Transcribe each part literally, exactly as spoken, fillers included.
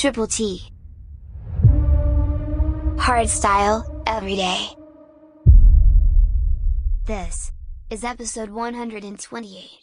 Triple T. Hardstyle, every day. This is episode one hundred twenty-eight.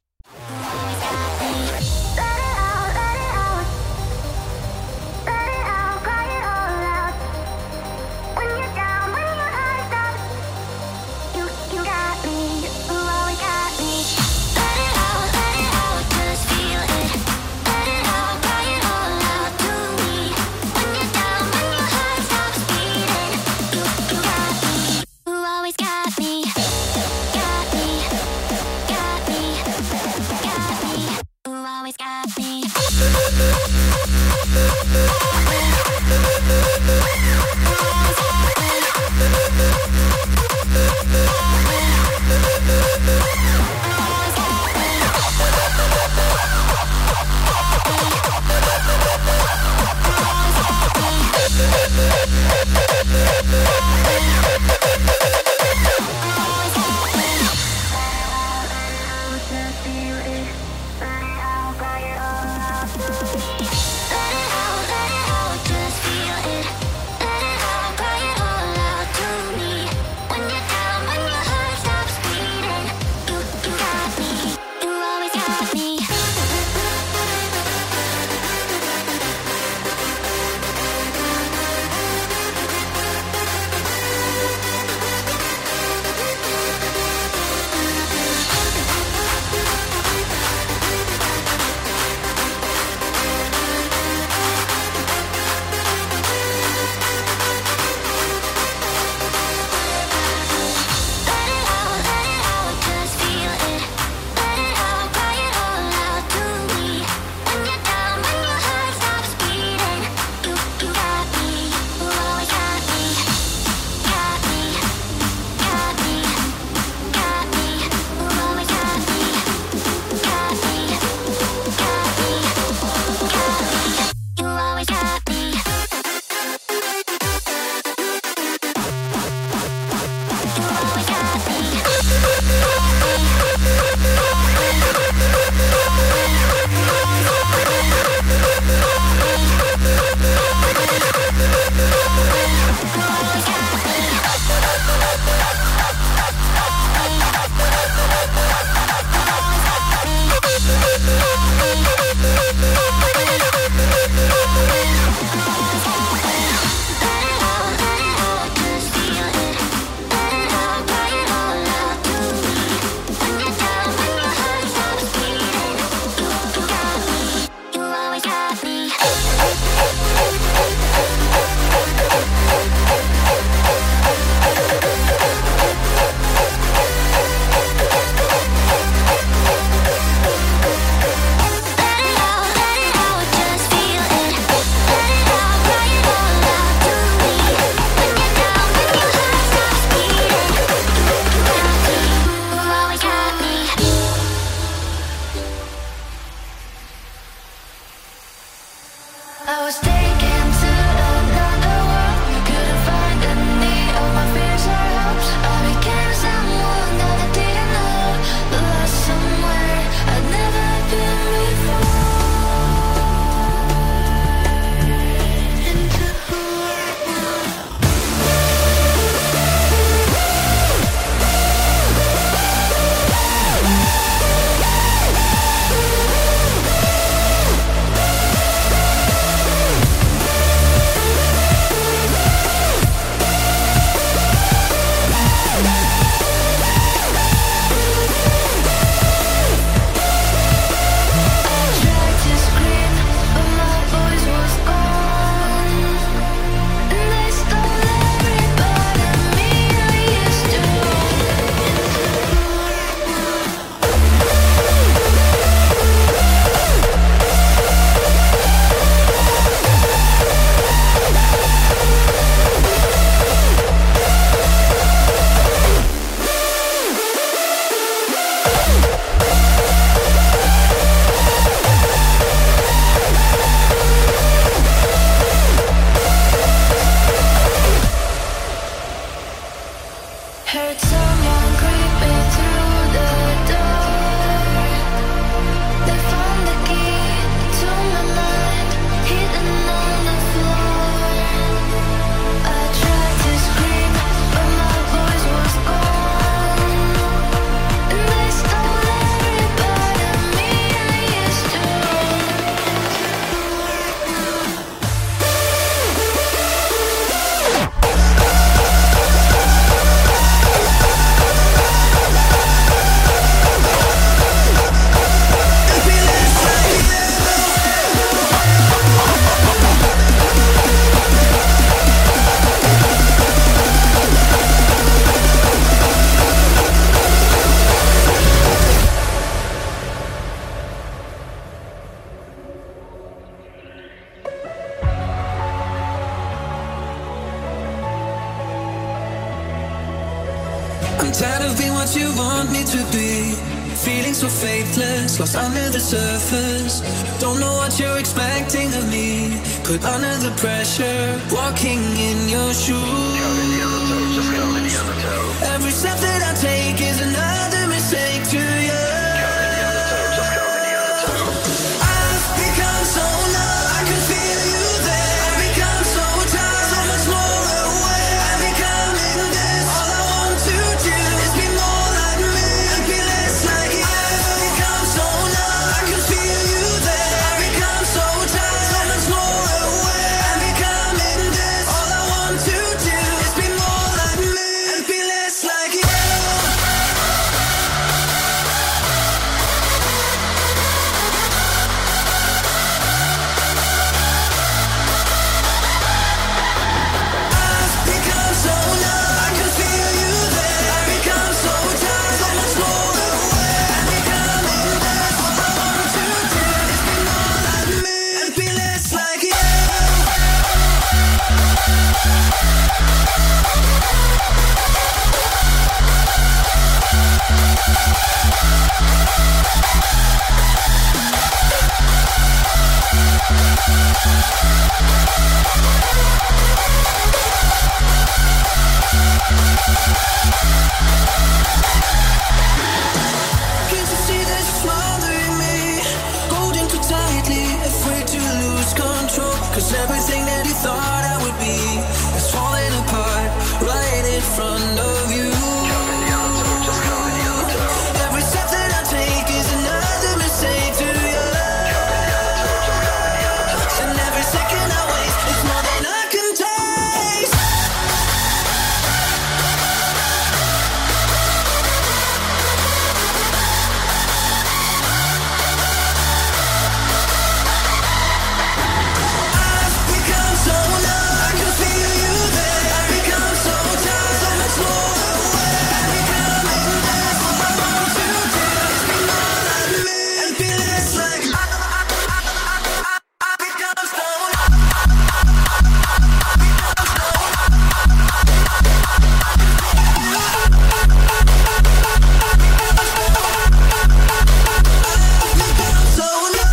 They found the key to my mind, hidden on the I'm tired of being what you want me to be. Feeling so faithless, lost under the surface. Don't know what you're expecting of me. Put under the pressure, walking in your shoes. Every step that I take is another mistake to you. I've become so numb, I can feel you there. I've become so tired, so much more aware. I'm becoming this, all I want to do is be more like me and be less like you. I've become so numb, I can feel you there. I've become so tired, so much more aware. I'm becoming this, all I want to do is be more like me and be less like you. Can't you see this smothering me? Holding too tightly, afraid to lose control. Cause everything that you thought I would be is falling apart right in front of you. Every step that I take is another mistake to you. And every second I waste is more than I can taste. I've become so numb, I can feel you there. I've become so tired, so much more aware. I'm becoming this, all I want to do is be more like me and be less like you. I've become so numb. So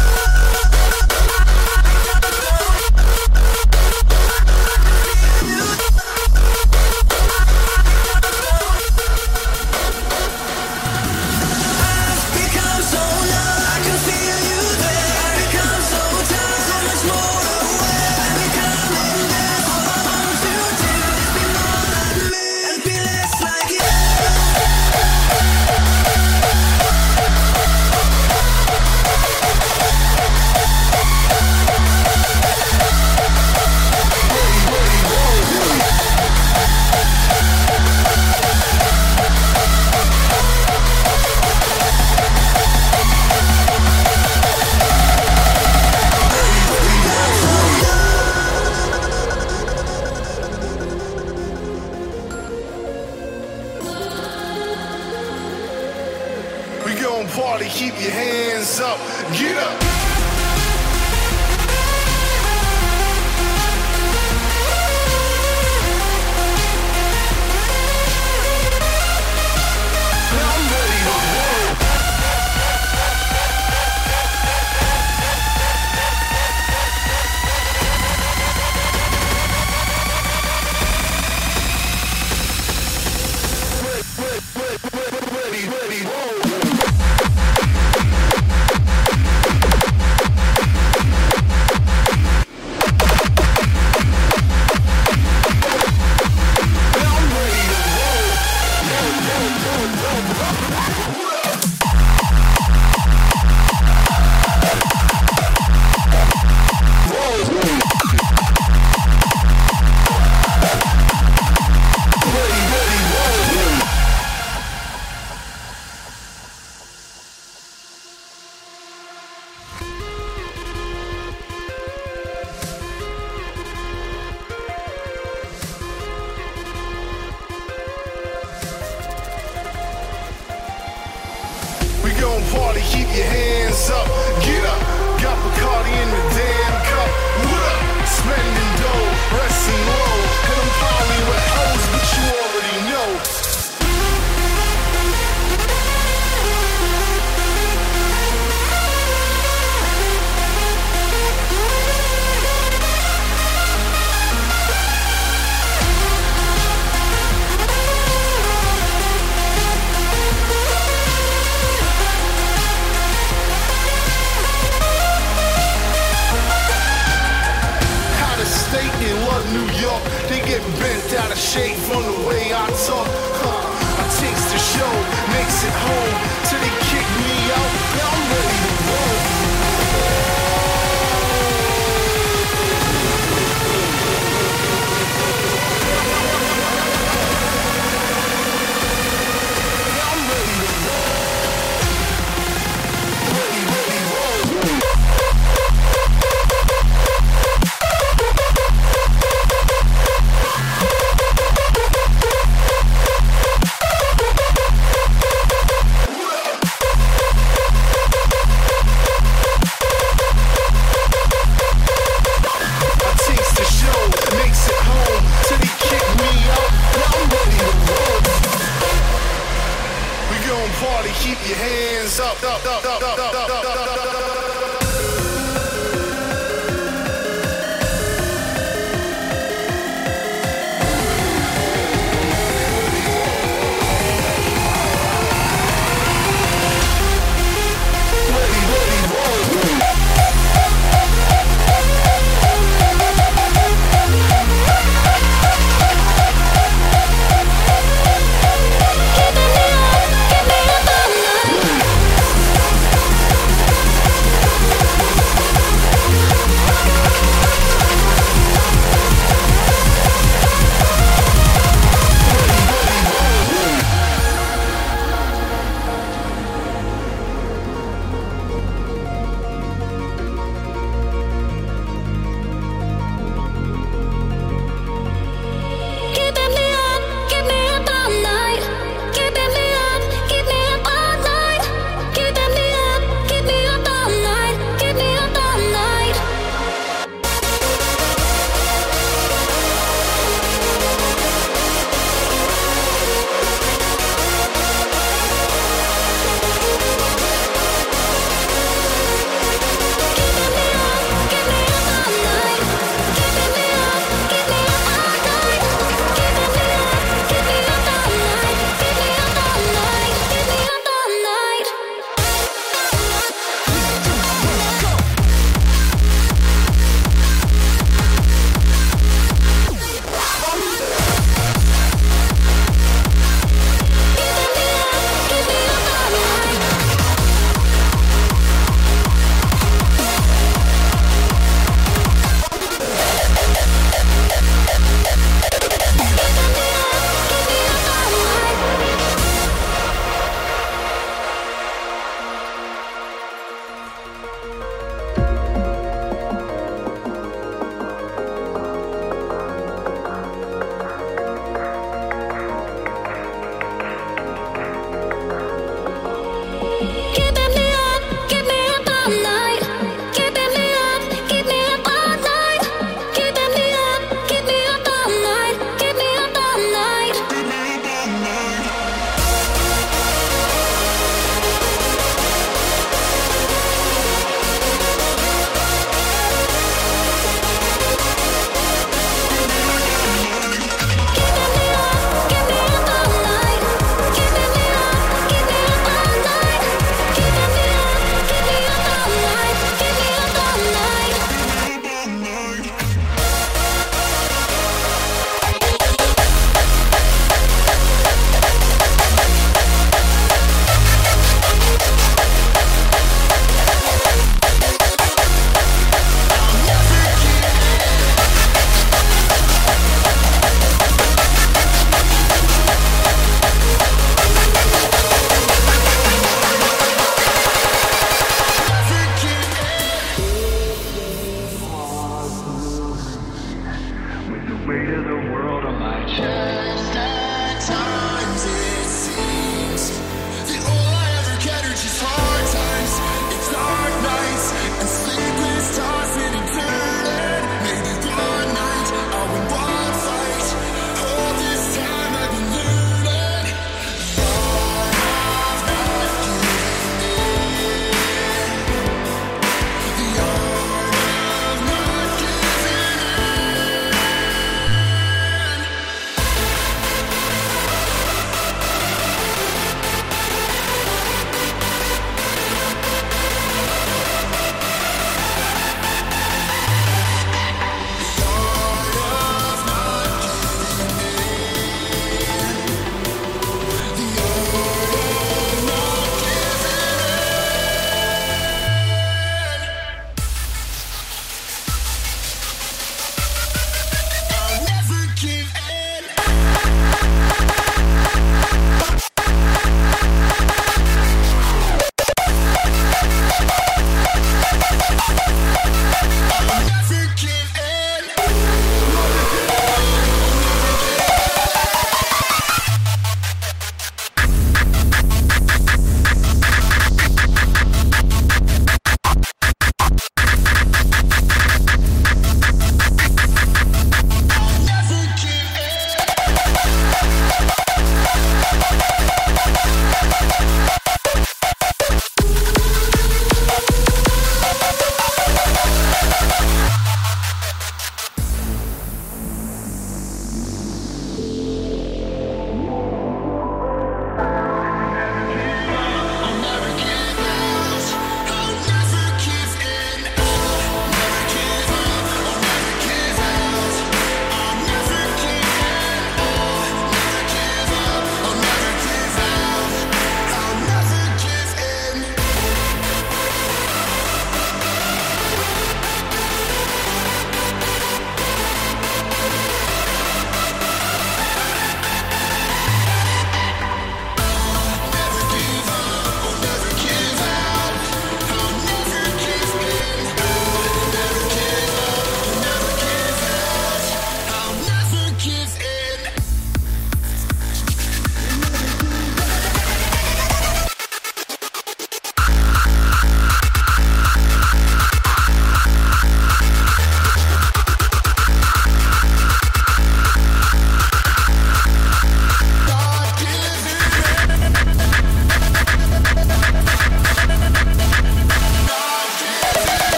become so numb, I can feel you there. I've become so tired, so much more aware. I'm becoming this, all I want to do is be more like me and be less like you. We gon' party, keep your hands up, get up. Now I'm ready to roll. Ready, ready, roll. Party, keep your hands up, get up. Got Bacardi in the damn cup. What up? Spending dough, resting low. And I'm probably with hoes, but you already know. keep your hands up, up, up, up, up, up, up, up, up, up.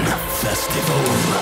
Festival.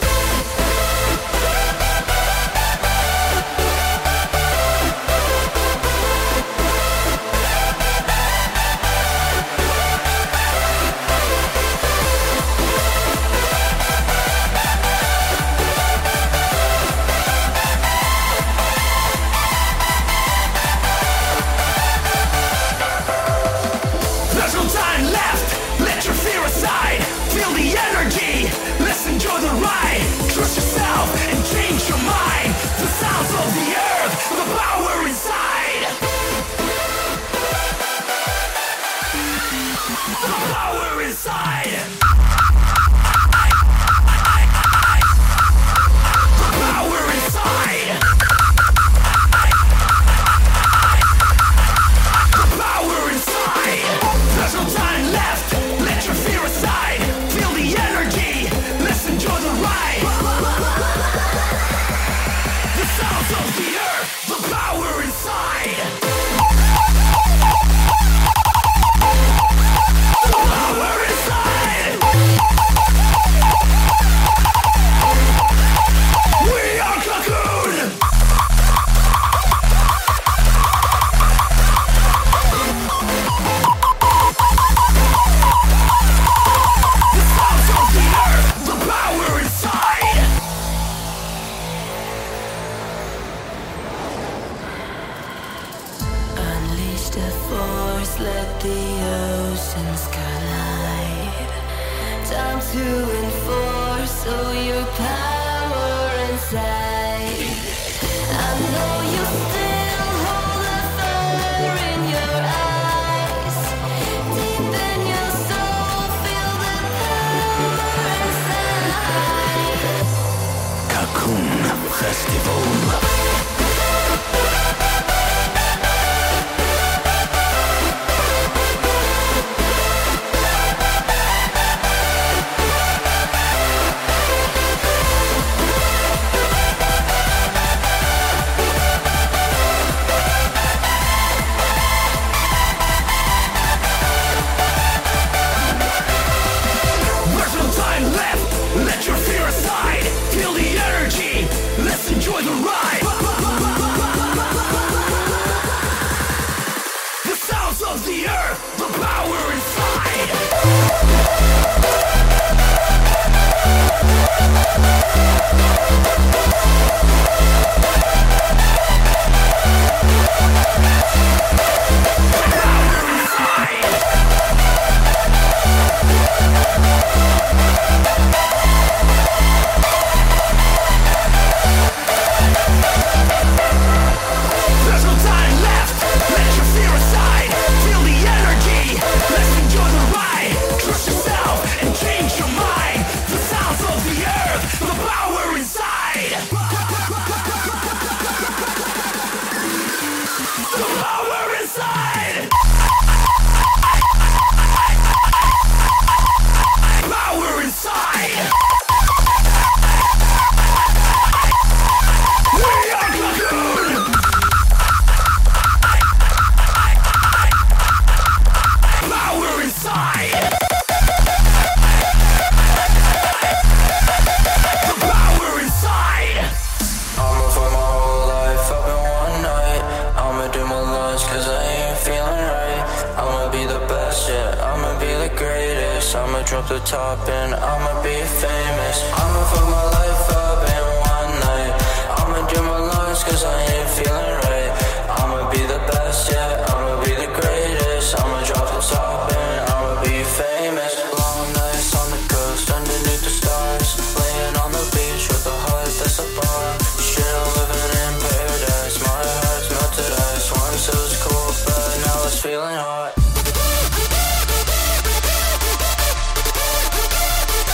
Drop the top and I'ma be famous. I'ma fuck my life up in one night. I'ma do my longest cause I ain't feeling right. I'ma be the best, yeah, I'ma be the greatest. I'ma drop the top and I'ma be famous. Long nights on the coast, underneath the stars. Laying on the beach with a heart that's a bar. Shit, I'm living in paradise. My heart's melted ice. Once it was cool, but now it's feeling hot.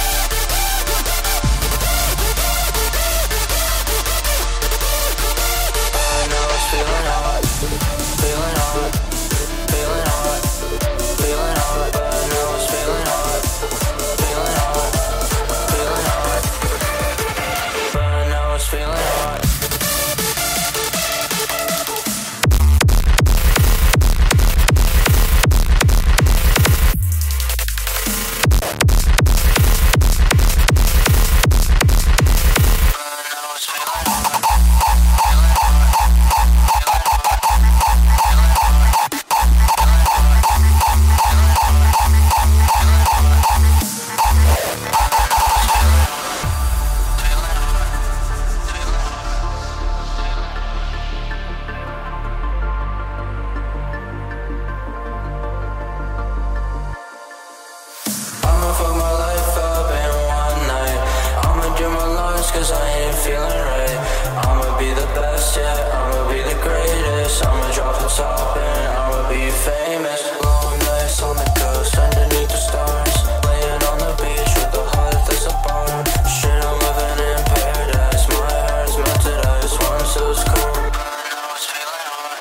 cause I ain't feeling right. I'ma be the best, yeah, I'ma be the greatest. I'ma drop the top and I'ma be famous. Long nights on the coast, underneath the stars, laying on the beach with the heart that's a bar. Shit, I'm living in paradise. My heart's melted ice, once it was cold, but now it's feeling hot.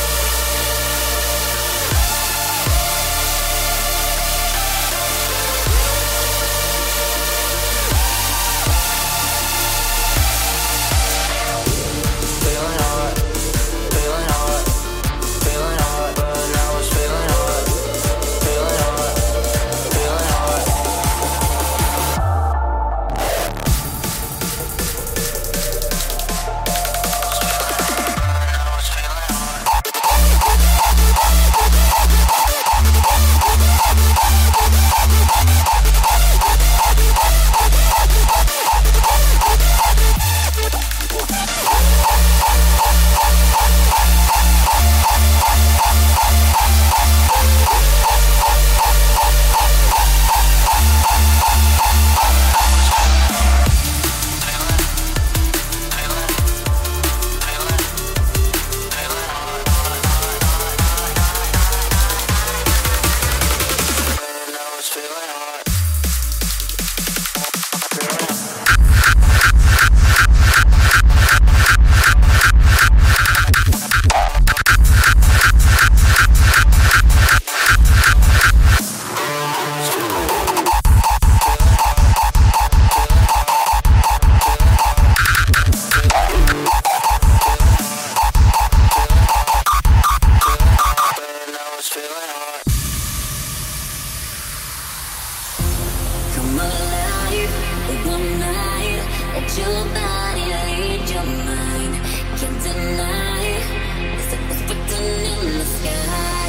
Feeling hot, feeling hot, feeling hot, but now it's feeling hot. Feeling hot, feeling hot. Now it's feeling hot. Now it's feeling hot. Now it's feeling hot. Come alive with one night. Let your body lead your mind. Can't deny it's like what's written in the sky.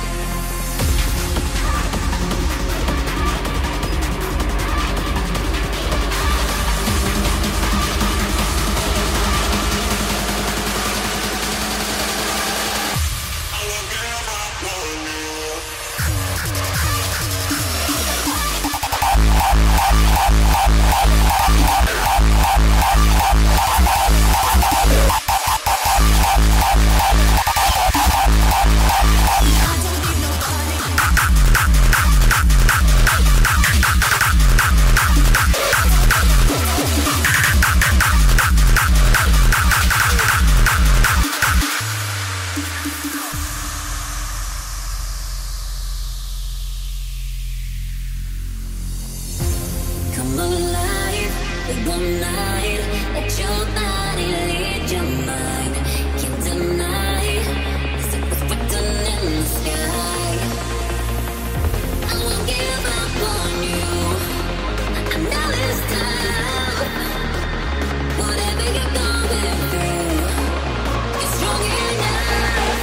Come alive with one night. Let your body lead your mind. Can't deny it's like what's written in the sky. I won't give up on you. I know it's time. Whatever you're going through, you're strong enough.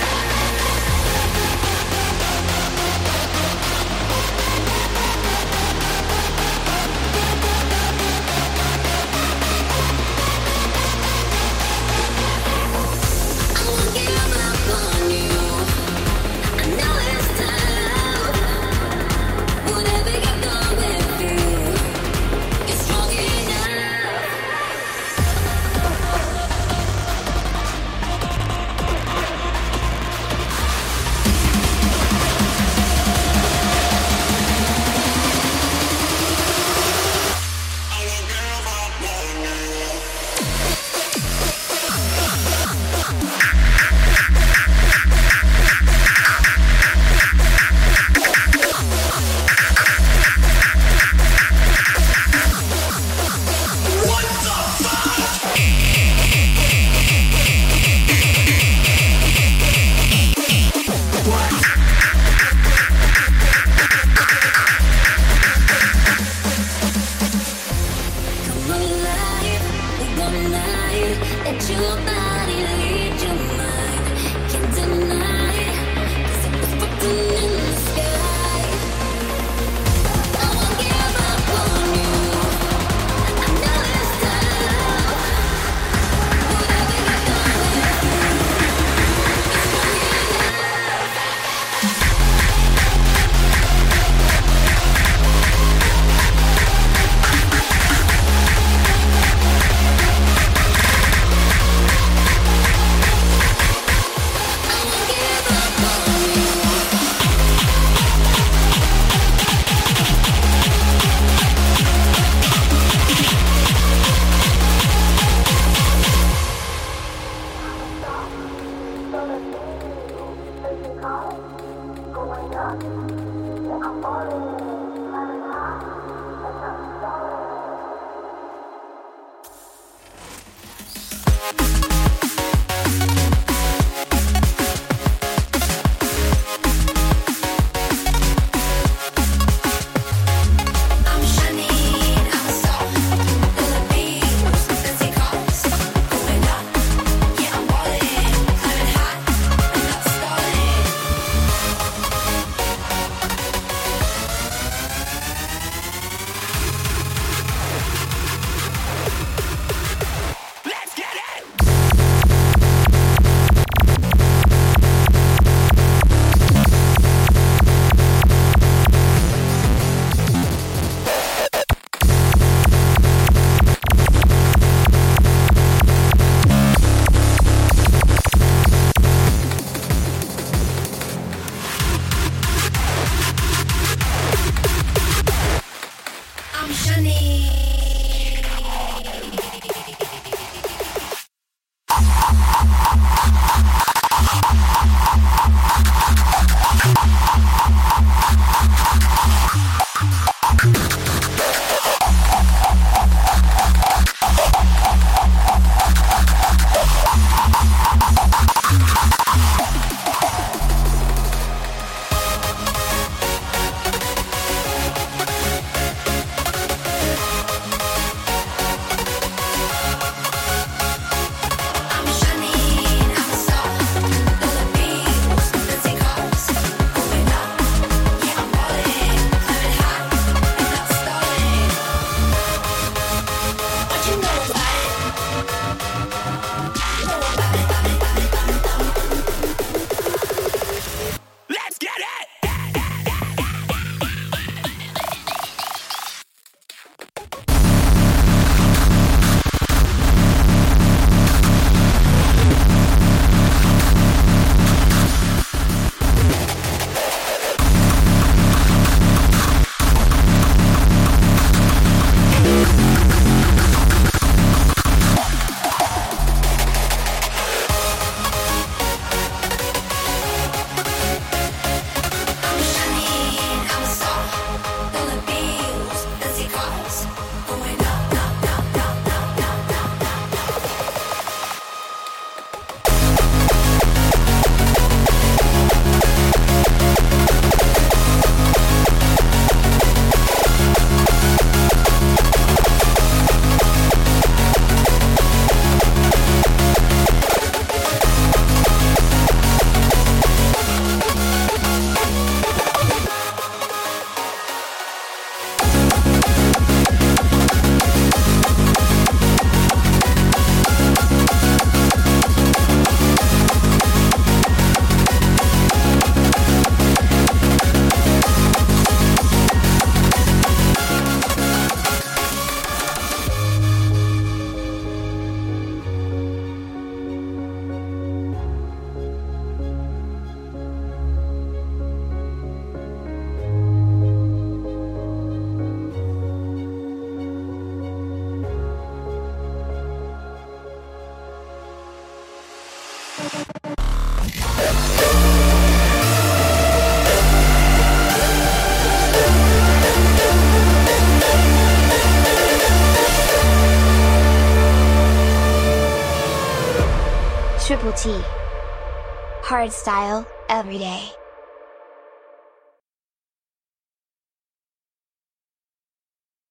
Triple T. Hardstyle, every day.